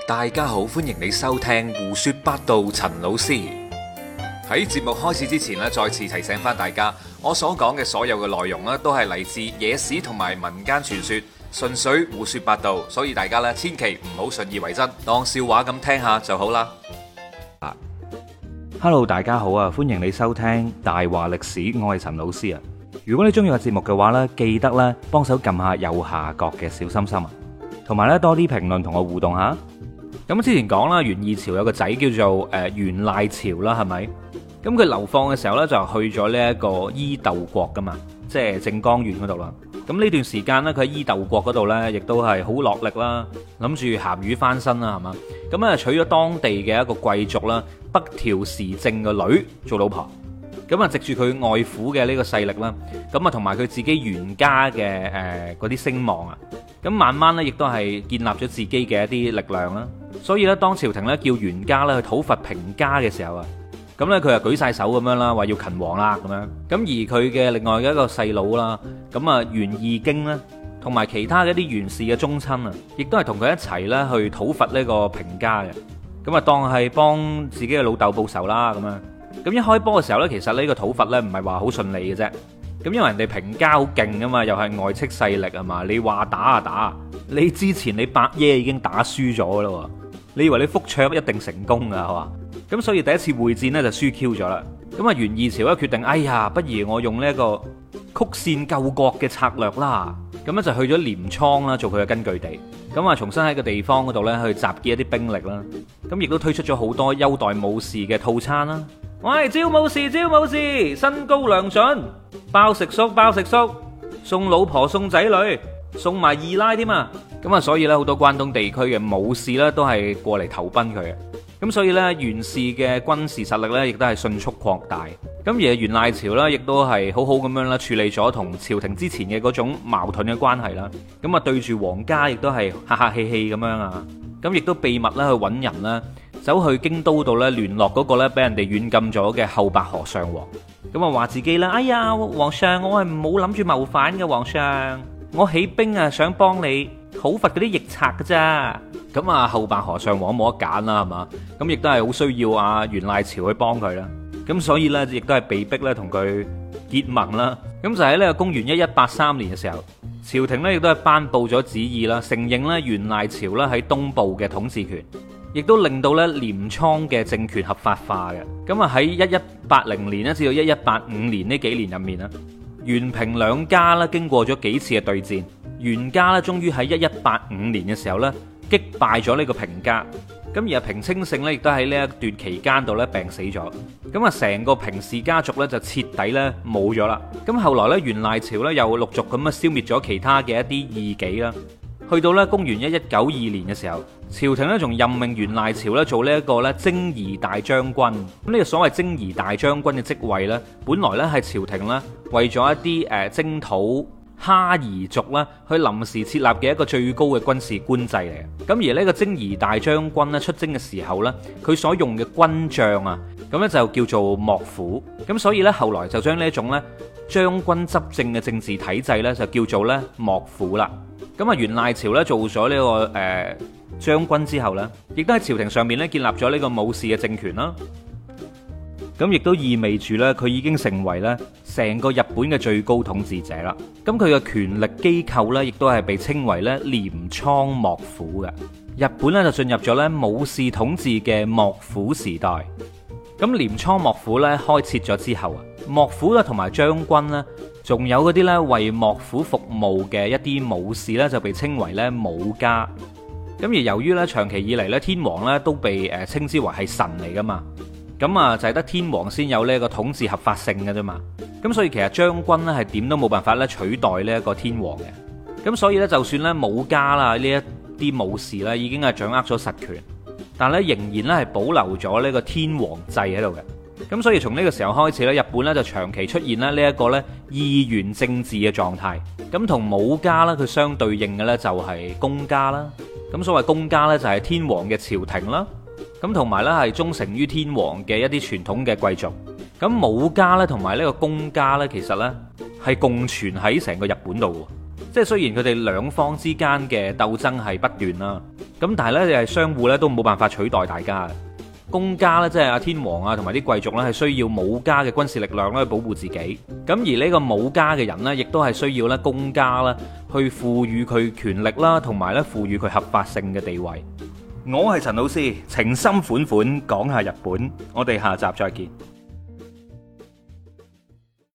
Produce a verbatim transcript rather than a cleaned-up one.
大家好，歡迎你收聽胡說八道。陳老師喺節目開始之前咧，再次提醒翻大家，我所講嘅所有嘅內容咧，都係嚟自野史同埋民間傳說，純粹胡說八道，所以大家咧千祈唔好信以為真，當笑話咁聽下就好啦。 Hello， 大家好啊！歡迎你收聽大話歷史，我係陳老師啊。如果你中意個節目嘅話呢，記得咧幫手撳下右下角嘅小心心啊，同埋咧多啲評論同我互動下。咁之前講啦，源義朝有個仔叫做誒源賴朝啦，係咪？咁佢流放嘅時候呢，就去咗呢一個伊豆國噶嘛，即係靜岡縣嗰度啦。咁呢段時間呢，佢喺伊豆國嗰度呢，亦都係好落力啦，諗住鹹魚翻身啦，係嘛？咁啊娶咗當地嘅一個貴族啦，北條時政嘅女做老婆。咁啊，藉住佢外父嘅呢個勢力啦，咁啊同埋佢自己源家嘅誒嗰啲聲望啊，咁慢慢咧亦都係建立咗自己嘅一啲力量啦。所以咧，當朝廷咧叫源家咧去討伐平家嘅時候啊，咁咧佢就舉晒手咁樣啦，話要勤王啦咁樣。咁而佢嘅另外嘅一個細佬啦，咁啊源義經咧，同埋其他嘅一啲源氏嘅宗親啊，亦都係同佢一齊咧去討伐呢個平家嘅。咁啊當係幫自己嘅老豆報仇啦咁樣。咁一開波嘅時候呢，其實呢個討伐呢唔係話好順利嘅啫。咁因為人哋平家好勁啊嘛，又係外戚勢力啊嘛，你話打就打。你之前你伯爺已經打輸咗啦，你以為你覆卓一定成功噶係嘛？咁所以第一次會戰呢就輸 Q 咗啦。咁啊源義朝咧決定，哎呀，不如我用呢一個曲線救國嘅策略啦。咁咧就去咗鐮倉啦，做佢嘅根據地。咁啊重新喺個地方嗰度呢去集結一啲兵力啦。咁亦都推出咗好多優待武士嘅套餐啦。喂，招武士，招武士，身高良準，包食宿，包食宿，送老婆，送仔女，送埋二奶添啊！咁啊，所以咧好多關東地區嘅武士咧都係過嚟投奔佢嘅。咁所以咧源氏嘅軍事實力咧亦都係迅速擴大。咁而源賴朝咧亦都係好好咁樣啦處理咗同朝廷之前嘅嗰種矛盾嘅關係啦。咁啊對住皇家亦都係客客氣氣咁樣啊。咁亦都秘密咧去揾人啦。走去京都度咧聯絡嗰個咧俾人哋軟禁咗嘅後白河上皇，咁啊話自己啦，哎呀皇上，我係冇諗住謀反嘅，皇上，我起兵啊想幫你討伐嗰啲逆賊㗎咋。咁啊後白河上皇冇得揀啦係嘛，咁亦都係好需要啊源賴朝去幫佢啦，咁所以咧亦都係被逼咧同佢結盟啦。咁就喺呢個公元一一八三年嘅時候，朝廷咧亦都係頒布咗旨意啦，承認咧源賴朝咧喺東部嘅統治權。亦都令到咧鐮倉嘅政權合法化嘅。咁啊喺一一八零年咧至到一一八五年呢幾年入面啦，源平兩家咧經過咗幾次嘅對戰，源家咧終於喺一一八五年嘅時候咧擊敗咗呢個平家。咁而阿平清盛咧亦都喺呢一段期間度咧病死咗。咁啊成個平氏家族咧就徹底咧冇咗啦。咁後來咧源賴朝咧又陸續咁啊消滅咗其他嘅一啲異己啦。去到咧公元一一九二年嘅時候，朝廷咧仲任命源賴朝咧做呢一個咧征夷大將軍。咁呢個所謂征夷大將軍嘅職位咧，本來咧係朝廷咧為咗一啲誒征討哈夷族啦，去臨時設立嘅一個最高嘅軍事官制嚟嘅。咁而呢個征夷大將軍咧出征嘅時候咧，佢所用嘅軍將啊，咁咧就叫做幕府。咁所以咧後來就將呢一種咧將軍執政嘅政治體制咧就叫做咧幕府啦。咁啊源賴朝咧做咗呢、這個誒、呃、將軍之後咧，亦都喺朝廷上面咧建立咗呢個武士嘅政權啦。咁亦都意味住咧佢已經成為咧成個日本嘅最高統治者啦。咁佢嘅權力機構咧亦都係被稱為咧鐮倉幕府嘅。日本咧就進入咗咧武士統治嘅幕府時代。咁鐮倉幕府咧開設咗之後啊，幕府咧同埋將軍咧。仲有嗰啲咧為幕府服務嘅一啲武士咧，就被稱為咧武家。咁而由於咧長期以嚟咧天皇咧都被誒稱之為係神嚟噶嘛，咁啊就係得天皇先有呢一個統治合法性嘅啫嘛。咁所以其實將軍咧係點都冇辦法咧取代呢一個天皇嘅。咁所以咧就算咧武家啦呢一啲武士咧已經係掌握咗實權，但係咧仍然咧係保留咗呢個天皇制喺度嘅。咁所以從呢個時候開始咧，日本咧就長期出現咧呢一個咧議員政治嘅狀態。咁同武家咧佢相對應嘅咧就係公家啦。咁所謂公家咧就係天皇嘅朝廷啦。咁同埋咧係忠誠於天皇嘅一啲傳統嘅貴族。咁武家咧同埋呢個公家咧其實咧係共存喺成個日本度。即係雖然佢哋兩方之間嘅鬥爭係不斷啦， 咁但係咧，係相互咧都冇辦法取代大家。公家咧，即係阿天皇啊，同埋啲貴族咧，係需要武家嘅軍事力量咧去保護自己。咁而呢個武家嘅人呢，亦都係需要咧公家啦去賦予佢權力啦，同埋咧賦予佢合法性嘅地位。我係陳老師，情深款款講下日本，我哋下集再見。